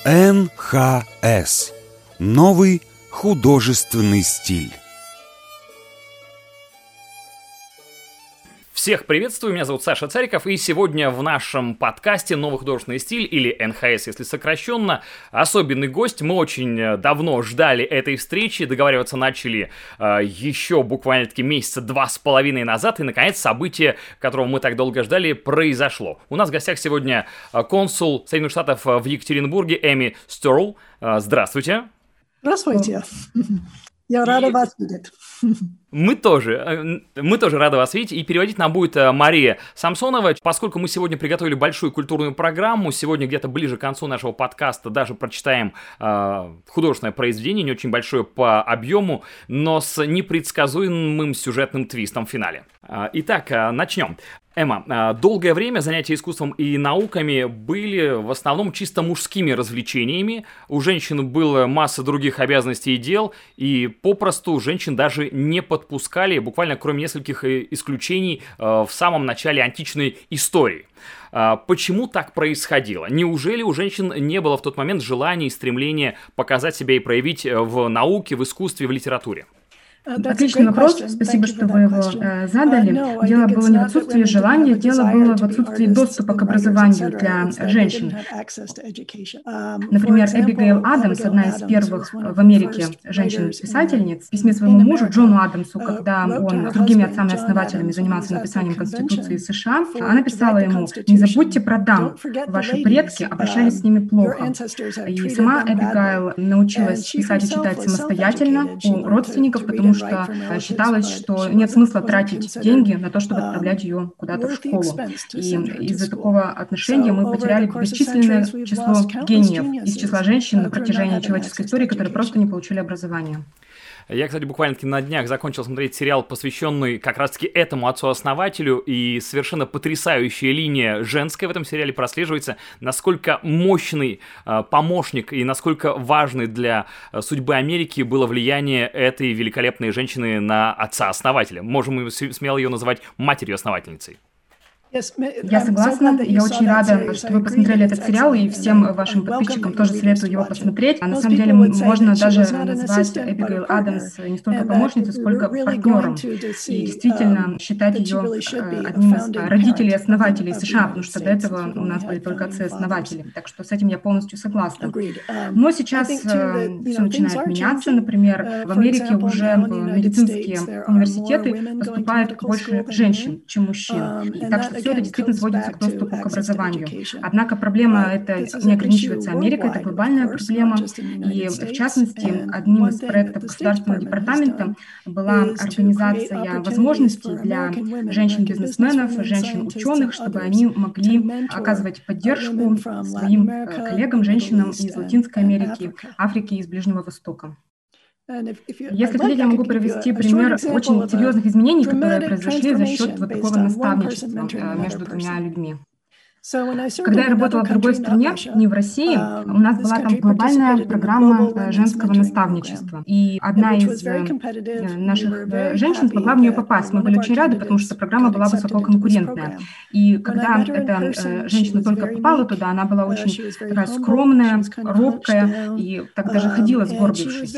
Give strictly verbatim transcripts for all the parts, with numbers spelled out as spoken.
эн ха эс. Новый художественный стиль. Всех приветствую, меня зовут Саша Цариков, и сегодня в нашем подкасте «Новый художественный стиль», или эн ха эс, если сокращенно, особенный гость. Мы очень давно ждали этой встречи, договариваться начали э, еще буквально-таки месяца два с половиной назад, и, наконец, событие, которого мы так долго ждали, произошло. У нас в гостях сегодня консул Соединенных Штатов в Екатеринбурге Эми Стерл. Э, здравствуйте. Здравствуйте. Я рада вас видеть. Мы тоже, мы тоже рады вас видеть, и переводить нам будет Мария Самсонова. Поскольку мы сегодня приготовили большую культурную программу, сегодня где-то ближе к концу нашего подкаста даже прочитаем э, художественное произведение, не очень большое по объему, но с непредсказуемым сюжетным твистом в финале. Э, итак, э, начнем. Эмма, долгое время занятия искусством и науками были в основном чисто мужскими развлечениями. У женщин было масса других обязанностей и дел, и попросту женщин даже не подпускали, буквально кроме нескольких исключений, в самом начале античной истории. Почему так происходило? Неужели у женщин не было в тот момент желания и стремления показать себя и проявить в науке, в искусстве, в литературе? Отличный вопрос, спасибо, что вы его э, задали. Дело было не в отсутствии желания, дело было в отсутствии доступа к образованию для женщин. Например, Эбигейл Адамс, одна из первых в Америке женщин-писательниц, в письме своему мужу Джону Адамсу, когда он с другими отцами-основателями занимался написанием Конституции США, она писала ему: «Не забудьте про дам, ваши предки обращались с ними плохо». И сама Эбигейл научилась писать и читать самостоятельно у родственников, потому что что считалось, что нет смысла тратить деньги на то, чтобы отправлять ее куда-то в школу. И из-за такого отношения мы потеряли бесчисленное число гениев из числа женщин на протяжении человеческой истории, которые просто не получили образование. Я, кстати, буквально-таки на днях закончил смотреть сериал, посвященный как раз-таки этому отцу-основателю, и совершенно потрясающая линия женская в этом сериале прослеживается, насколько мощный э, помощник и насколько важный для э, судьбы Америки было влияние этой великолепной женщины на отца-основателя. Можем смело ее называть матерью-основательницей. Я согласна, я очень рада, что вы посмотрели этот сериал, и всем вашим подписчикам тоже советую его посмотреть. А на самом деле можно даже назвать Эбигейл Адамс не столько помощницей, сколько партнером, и действительно считать ее одним из родителей-основателей США, потому что до этого у нас были только отцы-основатели, так что с этим я полностью согласна. Но сейчас все начинает меняться, например, в Америке уже в медицинские университеты поступают больше женщин, чем мужчин, и так что все это действительно сводится к доступу к образованию. Однако проблема эта не ограничивается Америкой, это глобальная проблема. И, в частности, одним из проектов Государственного департамента была организация возможностей для женщин-бизнесменов, женщин-ученых, чтобы они могли оказывать поддержку своим коллегам, женщинам из Латинской Америки, Африки и из Ближнего Востока. Если хотите, я могу привести пример очень серьезных изменений, которые произошли за счет вот такого наставничества между двумя людьми. Когда я работала в другой стране, не в России, у нас была там глобальная программа женского наставничества. И одна из наших женщин смогла в нее попасть. Мы были очень рады, потому что программа была высококонкурентная. И когда эта женщина только попала туда, она была очень такая скромная, робкая и так даже ходила сгорбившись.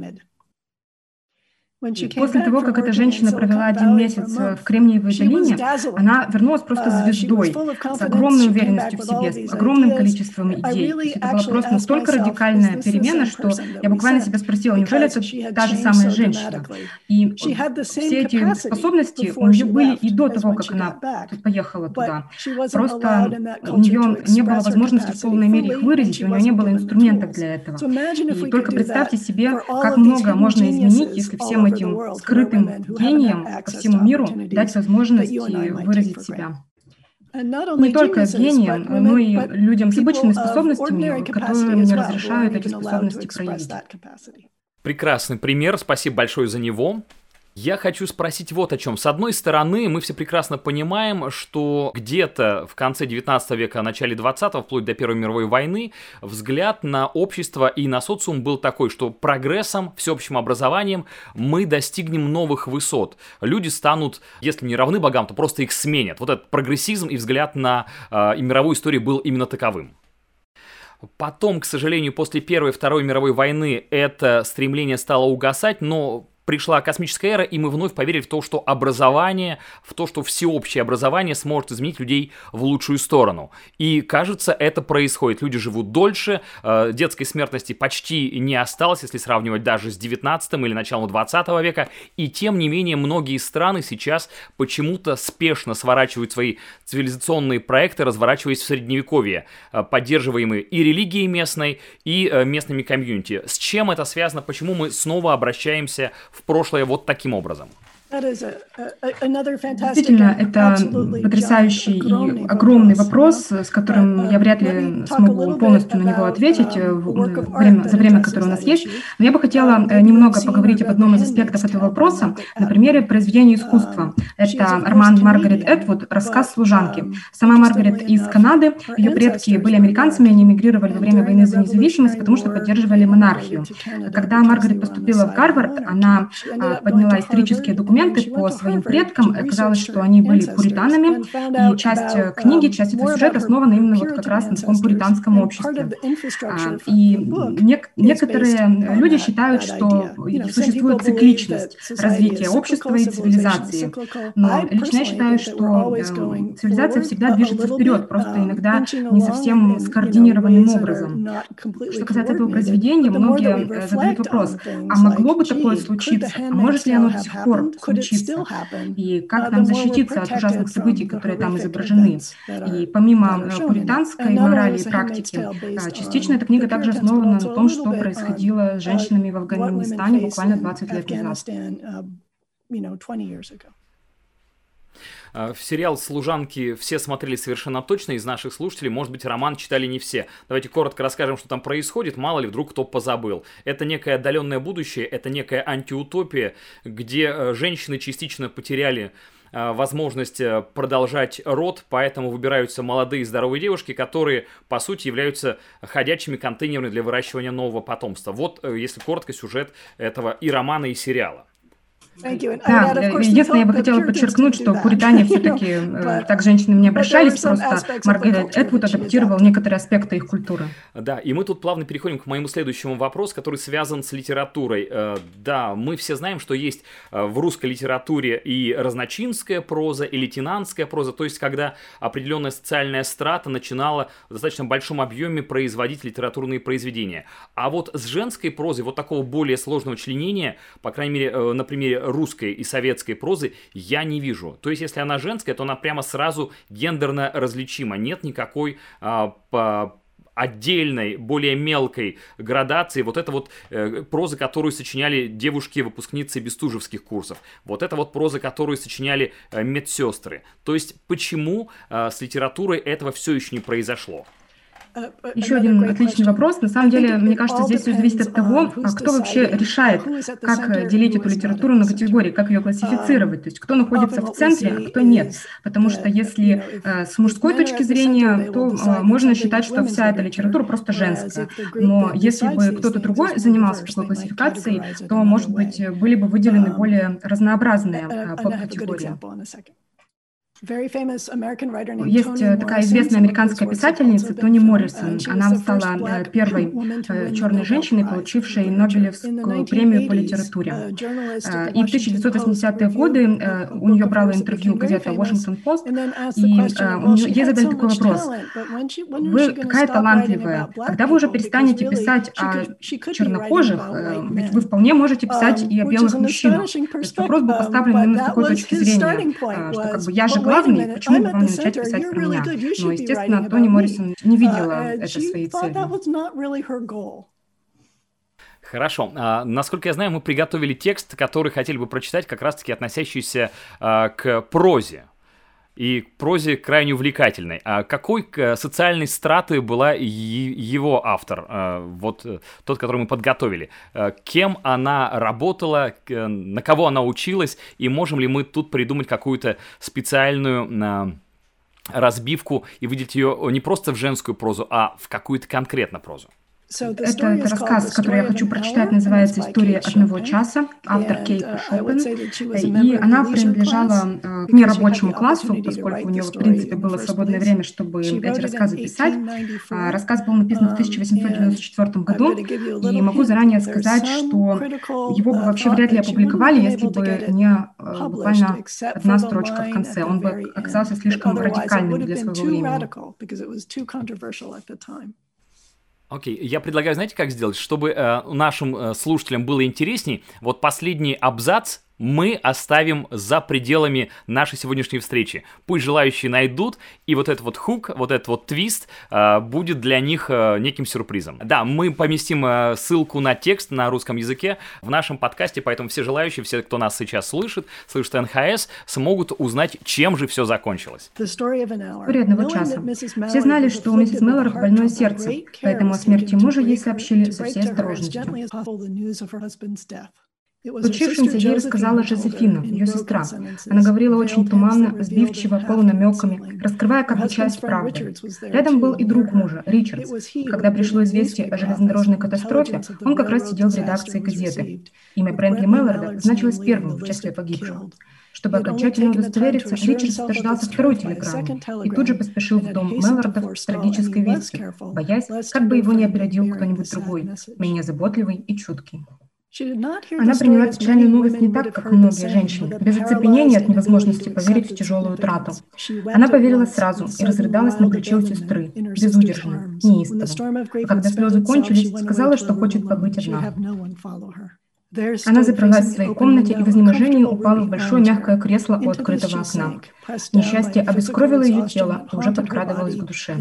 После того, как эта женщина провела один месяц в Кремниевой долине, она вернулась просто звездой, с огромной уверенностью в себе, с огромным количеством идей. Это была просто настолько радикальная перемена, что я буквально себя спросила, неужели это та же самая женщина? И все эти способности у нее были и до того, как она поехала туда. Просто у нее не было возможности в полной мере их выразить, у нее не было инструментов для этого. И только представьте себе, как много можно изменить, если всем этим скрытым гением по всему миру дать возможность выразить себя. Не только гениям, но и людям с обычными способностями, которым не разрешают эти способности проявить. Прекрасный пример, спасибо большое за него. Я хочу спросить вот о чем. С одной стороны, мы все прекрасно понимаем, что где-то в конце девятнадцатого века, начале двадцатого, вплоть до Первой мировой войны, взгляд на общество и на социум был такой, что прогрессом, всеобщим образованием мы достигнем новых высот. Люди станут, если не равны богам, то просто их сменят. Вот этот прогрессизм и взгляд на э, и мировую историю был именно таковым. Потом, к сожалению, после Первой и Второй мировой войны это стремление стало угасать, но пришла космическая эра, и мы вновь поверили в то, что образование, в то, что всеобщее образование сможет изменить людей в лучшую сторону. И, кажется, это происходит. Люди живут дольше, э, детской смертности почти не осталось, если сравнивать даже с девятнадцатым или началом двадцатого века. И, тем не менее, многие страны сейчас почему-то спешно сворачивают свои цивилизационные проекты, разворачиваясь в Средневековье, э, поддерживаемые и религией местной, и э, местными комьюнити. С чем это связано? Почему мы снова обращаемся в в прошлое вот таким образом? Действительно, это потрясающий и огромный вопрос, с которым я вряд ли смогу полностью на него ответить в время, за время, которое у нас есть. Но я бы хотела немного поговорить об одном из аспектов этого вопроса, на примере произведения искусства. Это роман Маргарет Этвуд «Рассказ служанки». Сама Маргарет из Канады, ее предки были американцами, они эмигрировали во время войны за независимость, потому что поддерживали монархию. Когда Маргарет поступила в Гарвард, она подняла исторические документы по своим предкам. Оказалось, что они были пуританами, и часть книги, часть этого сюжета основана именно вот как раз на таком пуританском обществе. И нек- некоторые люди считают, что существует цикличность развития общества и цивилизации. Но лично я считаю, что цивилизация всегда движется вперед, просто иногда не совсем скоординированным образом. Что касается этого произведения, многие задают вопрос, а могло бы такое случиться? А может ли оно до сих пор случиться? И как нам защититься от ужасных событий, которые там изображены? И помимо пуританской морали и практики, частично эта книга также основана на том, что происходило с женщинами в Афганистане буквально двадцать лет назад. В сериал «Служанки» все смотрели совершенно точно из наших слушателей. Может быть, роман читали не все. Давайте коротко расскажем, что там происходит. Мало ли, вдруг кто позабыл. Это некое отдаленное будущее, это некая антиутопия, где женщины частично потеряли возможность продолжать род, поэтому выбираются молодые здоровые девушки, которые, по сути, являются ходячими контейнерами для выращивания нового потомства. Вот, если коротко, сюжет этого и романа, и сериала. Да, единственное, я бы хотела подчеркнуть, что в Пуритане все-таки э, так женщины не обращались, просто Маргарет Этвуд адаптировал некоторые аспекты их культуры. Да, и мы тут плавно переходим к моему следующему вопросу, который связан с литературой. Э, да, мы все знаем, что есть э, в русской литературе и разночинская проза, и лейтенантская проза, то есть когда определенная социальная страта начинала в достаточно большом объеме производить литературные произведения. А вот с женской прозой, вот такого более сложного членения, по крайней мере, э, на примере русской и советской прозы, я не вижу. То есть, если она женская, то она прямо сразу гендерно различима. Нет никакой а, по отдельной, более мелкой градации. Вот это вот э, проза, которую сочиняли девушки-выпускницы бестужевских курсов. Вот это вот проза, которую сочиняли э, медсестры. То есть, почему э, с литературой этого все еще не произошло? Еще один отличный вопрос. На самом деле, мне кажется, здесь все зависит от того, кто вообще решает, как делить эту литературу на категории, как ее классифицировать. То есть, кто находится в центре, а кто нет. Потому что если э, с мужской точки зрения, то э, можно считать, что вся эта литература просто женская. Но если бы кто-то другой занимался такой классификацией, то, может быть, были бы выделены более разнообразные э, подкатегории. Есть такая известная американская писательница Тони Моррисон. Она стала первой черной женщиной, получившей Нобелевскую премию по литературе. И в тысяча девятьсот восьмидесятые годы у нее брала интервью газета Washington Post, и ей задали такой вопрос. Вы такая талантливая. Когда вы уже перестанете писать о чернокожих, ведь вы вполне можете писать и о белых мужчинах. Этот вопрос был поставлен именно с такой точки зрения, что как бы я же главный, почему бы вам не начать писать про меня? Но, естественно, Тони Моррисон не видела это своей целью. Хорошо. А, насколько я знаю, мы приготовили текст, который хотели бы прочитать, как раз-таки относящийся а, к прозе. И к прозе крайне увлекательной. А какой социальной страты была его автор, а, вот тот, который мы подготовили? А, кем она работала, на кого она училась, и можем ли мы тут придумать какую-то специальную а, разбивку и выделить ее не просто в женскую прозу, а в какую-то конкретно прозу? Это, это рассказ, который я хочу прочитать, называется «История одного часа», автор Кейт Шопен, и она принадлежала э, к нерабочему классу, поскольку у нее, в принципе, было свободное время, чтобы эти рассказы писать. А, рассказ был написан в тысяча восемьсот девяносто четвёртом году, и могу заранее сказать, что его бы вообще вряд ли опубликовали, если бы не э, буквально одна строчка в конце. Он бы оказался слишком радикальным для своего времени. Окей, okay. Я предлагаю, знаете, как сделать, чтобы э, нашим э, слушателям было интересней, вот последний абзац мы оставим за пределами нашей сегодняшней встречи. Пусть желающие найдут, и вот этот вот хук, вот этот вот твист э, будет для них э, неким сюрпризом. Да, мы поместим э, ссылку на текст на русском языке в нашем подкасте, поэтому все желающие, все, кто нас сейчас слышит, слышит эн ха эс, смогут узнать, чем же все закончилось. История одного часа. Все знали, что у миссис Меллорд больное сердце, поэтому о смерти мужа ей сообщили со всей осторожностью. Случившемся ей рассказала Жозефина, ее сестра. Она говорила очень туманно, сбивчиво, полунамеками, раскрывая как бы часть правды. Рядом был и друг мужа, Ричардс. Когда пришло известие о железнодорожной катастрофе, он как раз сидел в редакции газеты. Имя Брентли Меллорда значилось первым в числе погибших. Чтобы окончательно удостовериться, Ричардс дождался второй телеграммы и тут же поспешил в дом Меллордов с трагической вестью, боясь, как бы его не опередил кто-нибудь другой, менее заботливый и чуткий. Она приняла печальную новость не так, как многие женщины, без оцепенения от невозможности поверить в тяжелую утрату. Она поверила сразу и разрыдалась на плече у сестры, безудержно, неистово. А когда слезы кончились, сказала, что хочет побыть одна. Она заперлась в своей комнате и в изнеможении упала в большое мягкое кресло у открытого окна. Несчастье обескровило ее тело и уже подкрадывалось к душе.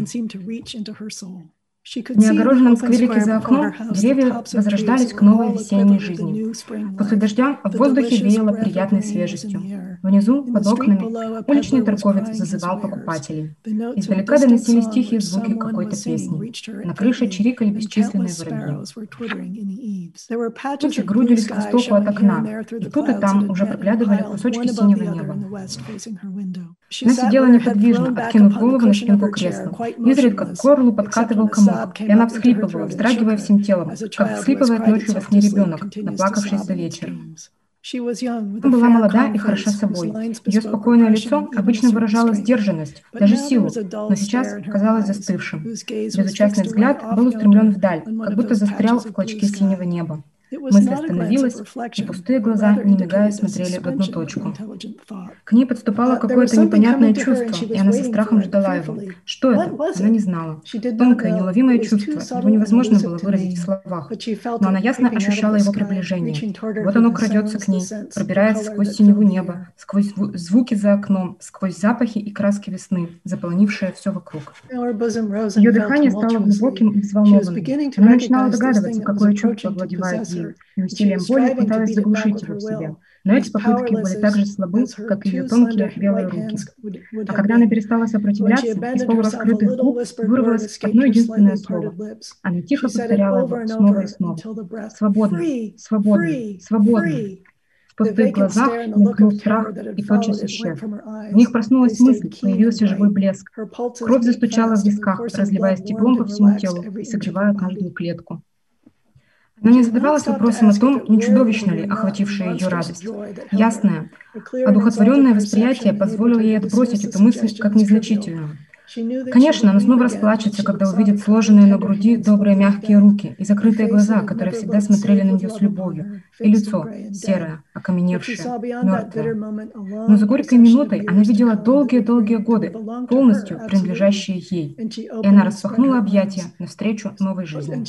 В неогороженном скверике за окном деревья возрождались к новой весенней жизни. После дождя в воздухе веяло приятной свежестью. Внизу, под окнами, уличный торговец зазывал покупателей. Издалека доносились тихие звуки какой-то песни. На крыше чирикали бесчисленные воробьи. Тучи грудились к востоку от окна, и тут и там уже проглядывали кусочки синего неба. Она сидела неподвижно, откинув голову на спинку кресла. Изредка к горлу подкатывал комок, и она всхлипывала, вздрагивая всем телом, как всхлипывает ночью во сне ребенок, наплакавшись за вечер. Она была молода и хороша собой. Ее спокойное лицо обычно выражало сдержанность, даже силу, но сейчас казалось застывшим. Безучастный взгляд был устремлен вдаль, как будто застрял в клочке синего неба. Мысль остановилась, и пустые глаза, не мигая, смотрели в одну точку. К ней подступало какое-то непонятное чувство, и она со страхом ждала его. Что это? Она не знала. Тонкое, неуловимое чувство, его невозможно было выразить в словах, но она ясно ощущала его приближение. Вот оно крадется к ней, пробирается сквозь синеву неба, сквозь звуки за окном, сквозь запахи и краски весны, заполонившие все вокруг. Ее дыхание стало глубоким и взволнованным. Она начинала догадываться, какое чувство овладевает ею, и усилием воли пыталась заглушить его в себе. Но эти попытки были так же слабы, как и ее тонкие белые руки. А когда она перестала сопротивляться, из полураскрытых губ вырвалось одно единственное слово. Она тихо повторяла его снова и снова. «Свободно! Свободно! Свободно!» В пустых глазах мелькнул страх и тотчас исчез. В них проснулась мысль, появился живой блеск. Кровь застучала в висках, разливаясь теплом по всему телу и согревая каждую клетку. Она не задавалась вопросом о том, не чудовищно ли охватившая ее радость. Ясное, одухотворенное восприятие позволило ей отбросить эту мысль как незначительную. Конечно, она снова расплачется, когда увидит сложенные на груди добрые мягкие руки и закрытые глаза, которые всегда смотрели на нее с любовью, и лицо серое, окаменевшее, мертвое. Но за горькой минутой она видела долгие-долгие годы, полностью принадлежащие ей, и она распахнула объятия навстречу новой жизни.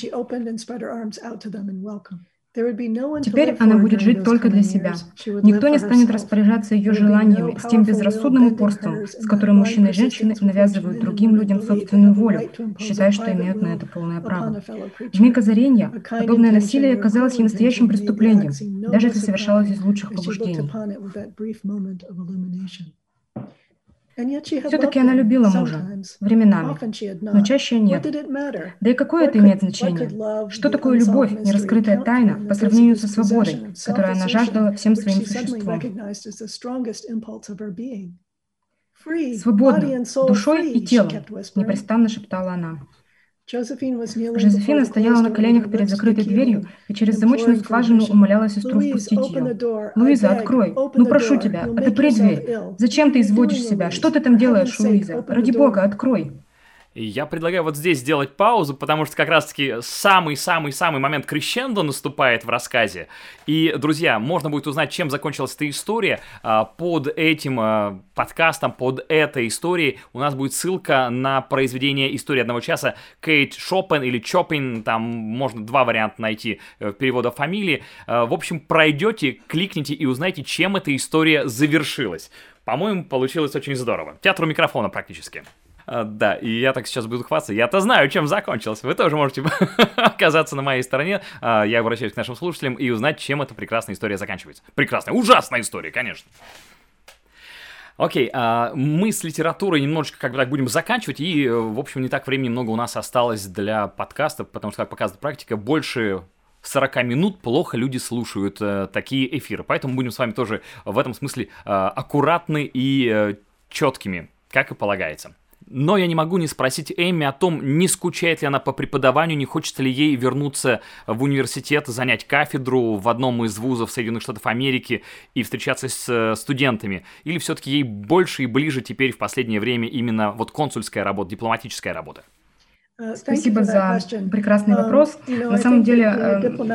Теперь она будет жить только для себя. Никто не станет распоряжаться ее желаниями с тем безрассудным упорством, с которым мужчины и женщины навязывают другим людям собственную волю, считая, что имеют на это полное право. В миг озарения подобное насилие казалось ей настоящим преступлением, даже если совершалось из лучших побуждений. Все-таки она любила мужа, временами, но чаще нет. Да и какое это имеет значение? Что такое любовь, нераскрытая тайна, по сравнению со свободой, которую она жаждала всем своим существом? «Свободна, душой и телом», — непрестанно шептала она. Жозефина стояла на коленях перед закрытой дверью и через замочную скважину умоляла сестру впустить ее. «Луиза, открой! Ну, прошу тебя, отопри дверь! Зачем ты изводишь себя? Что ты там делаешь, Луиза? Ради бога, открой!» И я предлагаю вот здесь сделать паузу, потому что как раз-таки самый-самый-самый момент крещендо наступает в рассказе. И, друзья, можно будет узнать, чем закончилась эта история. Под этим подкастом, под этой историей у нас будет ссылка на произведение «История одного часа» Кейт Шопен или Чопин, там можно два варианта найти перевода фамилии. В общем, пройдете, кликните и узнаете, чем эта история завершилась. По-моему, получилось очень здорово. Театр у микрофона практически. Uh, да, и я так сейчас буду хвастаться. Я-то знаю, чем закончилось. Вы тоже можете оказаться на моей стороне. Uh, я обращаюсь к нашим слушателям и узнать, чем эта прекрасная история заканчивается. Прекрасная, ужасная история, конечно. Окей, okay, uh, мы с литературой немножечко как бы так будем заканчивать. И, в общем, не так времени много у нас осталось для подкастов, потому что, как показывает практика, больше сорок минут плохо люди слушают uh, такие эфиры. Поэтому будем с вами тоже в этом смысле uh, аккуратны и uh, четкими, как и полагается. Но я не могу не спросить Эми о том, не скучает ли она по преподаванию, не хочется ли ей вернуться в университет, занять кафедру в одном из вузов Соединенных Штатов Америки и встречаться с студентами. Или все-таки ей больше и ближе теперь в последнее время именно вот консульская работа, дипломатическая работа? Спасибо за прекрасный вопрос. На самом деле,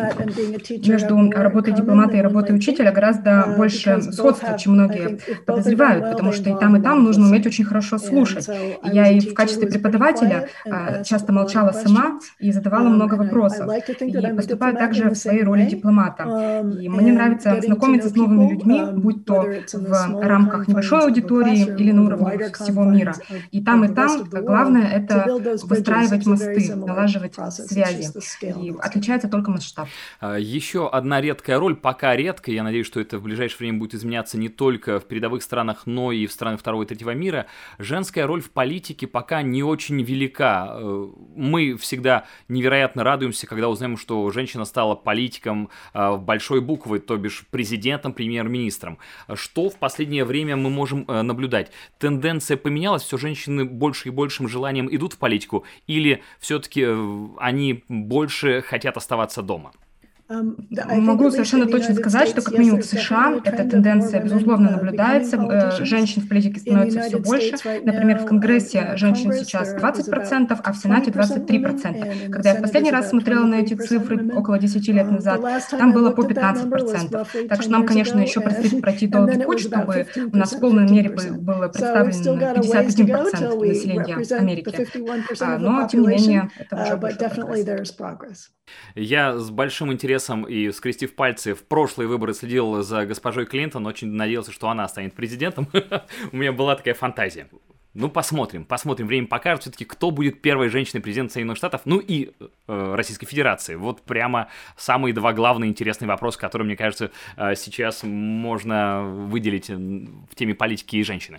между работой дипломата и работой учителя гораздо больше сходства, чем многие подозревают, потому что и там, и там нужно уметь очень хорошо слушать. Я и в качестве преподавателя часто молчала сама и задавала много вопросов. И поступаю также в своей роли дипломата. И мне нравится знакомиться с новыми людьми, будь то в рамках небольшой аудитории или на уровне всего мира. И там, и там главное — это выстраивать мосты, налаживать связи. И отличается только масштаб. Еще одна редкая роль, пока редкая, я надеюсь, что это в ближайшее время будет изменяться не только в передовых странах, но и в странах второго и третьего мира. Женская роль в политике пока не очень велика. Мы всегда невероятно радуемся, когда узнаем, что женщина стала политиком в большой буквы, то бишь президентом, премьер-министром. Что в последнее время мы можем наблюдать? Тенденция поменялась, все женщины больше и большим желанием идут в политику, или все-таки они больше хотят оставаться дома? Могу совершенно точно сказать, что как минимум в США эта тенденция, безусловно, наблюдается. Женщин в политике становится все больше. Например, в Конгрессе женщин сейчас двадцать процентов, а в Сенате двадцать три процента. Когда я в последний раз смотрела на эти цифры около десяти лет назад, там было по пятнадцать процентов. Так что нам, конечно, еще предстоит пройти долгий путь, чтобы у нас в полной мере было представлено пятьдесят один процент населения Америки. Но, тем не менее, это уже большой прогресс. Я с большим интересом и скрестив пальцы в прошлые выборы следил за госпожой Клинтон, очень надеялся, что она станет президентом. У меня была такая фантазия. Ну, посмотрим, посмотрим. Время покажет все-таки, кто будет первой женщиной-президентом Соединенных Штатов, ну и э, Российской Федерации. Вот прямо самые два главные интересные вопроса, которые, мне кажется, э, сейчас можно выделить в теме политики и женщины.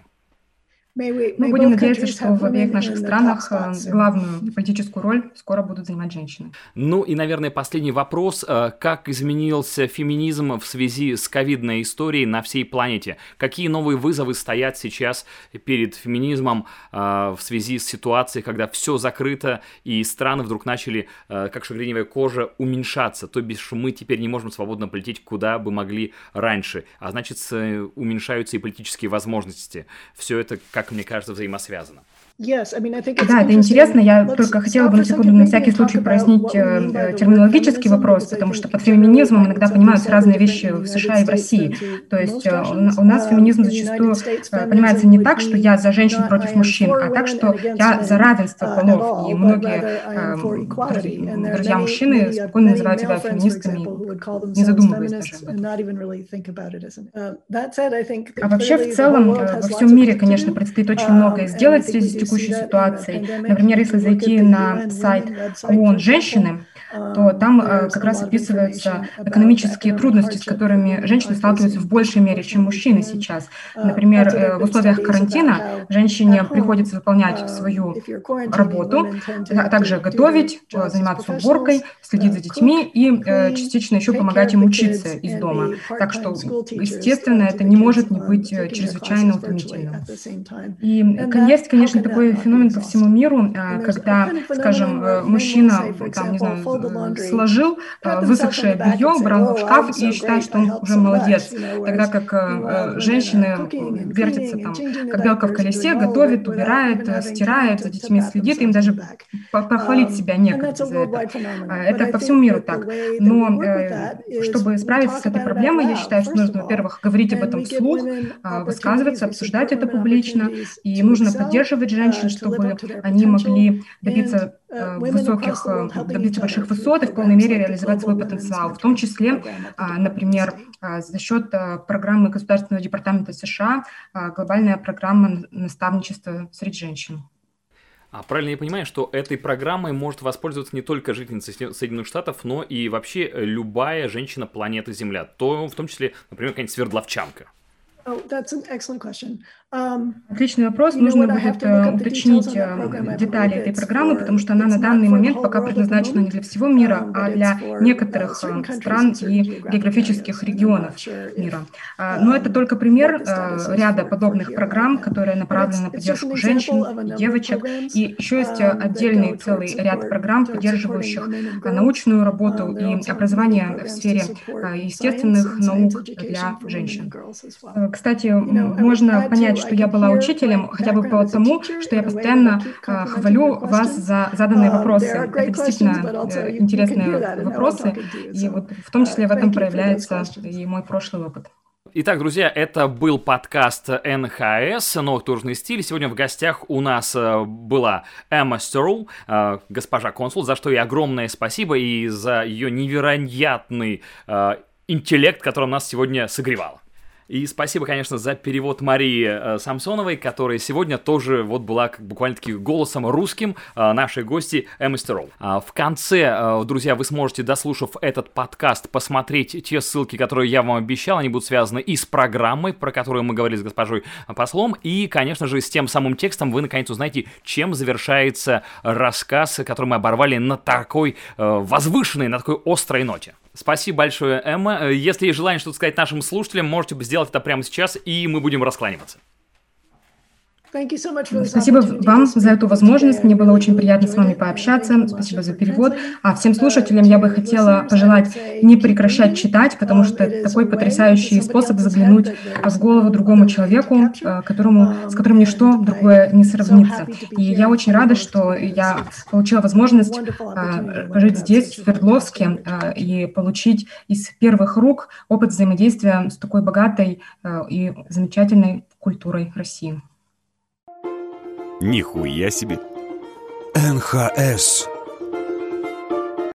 Мы будем надеяться, что в обеих наших странах главную политическую роль скоро будут занимать женщины. Ну и, наверное, последний вопрос. Как изменился феминизм в связи с ковидной историей на всей планете? Какие новые вызовы стоят сейчас перед феминизмом в связи с ситуацией, когда все закрыто и страны вдруг начали, как шагреневая кожа, уменьшаться? То бишь мы теперь не можем свободно полететь, куда бы могли раньше. А значит, уменьшаются и политические возможности. Все это, как мне кажется, взаимосвязано. Да, это интересно. Я только хотела бы на секунду на всякий случай прояснить э, терминологический вопрос, потому что под феминизмом иногда понимаются разные вещи в США и в России. То есть э, у нас феминизм зачастую э, понимается не так, что я за женщин против мужчин, а так, что я за равенство полов. И многие э, друзья-мужчины спокойно называют себя феминистками, не задумываясь даже об этом. А вообще, в целом, э, во всем мире, конечно, предстоит очень многое сделать в связи с текущей ситуацией. Например, если зайти на сайт ООН «Женщины», то там как раз описываются экономические трудности, с которыми женщины сталкиваются в большей мере, чем мужчины сейчас. Например, в условиях карантина женщине приходится выполнять свою работу, а также готовить, заниматься уборкой, следить за детьми и частично еще помогать им учиться из дома. Так что, естественно, это не может не быть чрезвычайно утомительным. И есть, конечно, такой феномен по всему миру, когда, скажем, мужчина, там, не знаю, сложил высохшее белье, убрал в шкаф и считает, что он уже молодец, тогда как женщины вертятся там, как белка в колесе, готовит, убирает, стирает, за детьми следит, им даже похвалить себя некогда за это. Это по всему миру так. Но чтобы справиться с этой проблемой, я считаю, что нужно, во-первых, говорить об этом вслух, высказываться, обсуждать это публично, и нужно поддерживать женщин, чтобы они могли добиться высоких, добиться больших высот и в полной мере реализовать свой потенциал, в том числе, например, за счет программы Государственного департамента США «Глобальная программа наставничества среди женщин». А правильно я понимаю, что этой программой может воспользоваться не только жительница Соединенных Штатов, но и вообще любая женщина планеты Земля, то в том числе, например, какая-нибудь свердловчанка? Oh, that's an excellent question. Um, Отличный вопрос. Нужно будет уточнить детали этой программы, потому что она на данный момент пока предназначена не для всего мира, а для некоторых стран и географических регионов мира. Но это только пример ряда подобных программ, которые направлены на поддержку женщин и девочек. И еще есть отдельный целый ряд программ, поддерживающих научную работу и образование в сфере естественных наук для женщин. Кстати, можно понять, что я была учителем, хотя бы потому, что я постоянно э, хвалю вас за заданные вопросы. Это действительно э, интересные вопросы, и вот в том числе в этом проявляется и мой прошлый опыт. Итак, друзья, это был подкаст эн ха эс «Новый художественный стиль». Сегодня в гостях у нас была Эмма Стерл, госпожа консул, за что ей огромное спасибо и за ее невероятный интеллект, которым нас сегодня согревал. И спасибо, конечно, за перевод Марии э, Самсоновой, которая сегодня тоже вот была как буквально-таки голосом русским э, нашей гости Эммы Стерл. А в конце, э, друзья, вы сможете, дослушав этот подкаст, посмотреть те ссылки, которые я вам обещал. Они будут связаны и с программой, про которую мы говорили с госпожой послом, и, конечно же, с тем самым текстом вы, наконец, узнаете, чем завершается рассказ, который мы оборвали на такой э, возвышенной, на такой острой ноте. Спасибо большое, Эмма. Если есть желание что-то сказать нашим слушателям, можете сделать это прямо сейчас, и мы будем раскланиваться. Спасибо вам за эту возможность. Мне было очень приятно с вами пообщаться. Спасибо за перевод. А всем слушателям я бы хотела пожелать не прекращать читать, потому что это такой потрясающий способ заглянуть в голову другому человеку, которому, с которым ничто другое не сравнится. И я очень рада, что я получила возможность жить здесь, в Свердловске, и получить из первых рук опыт взаимодействия с такой богатой и замечательной культурой России. Нихуя себе! эн ха эс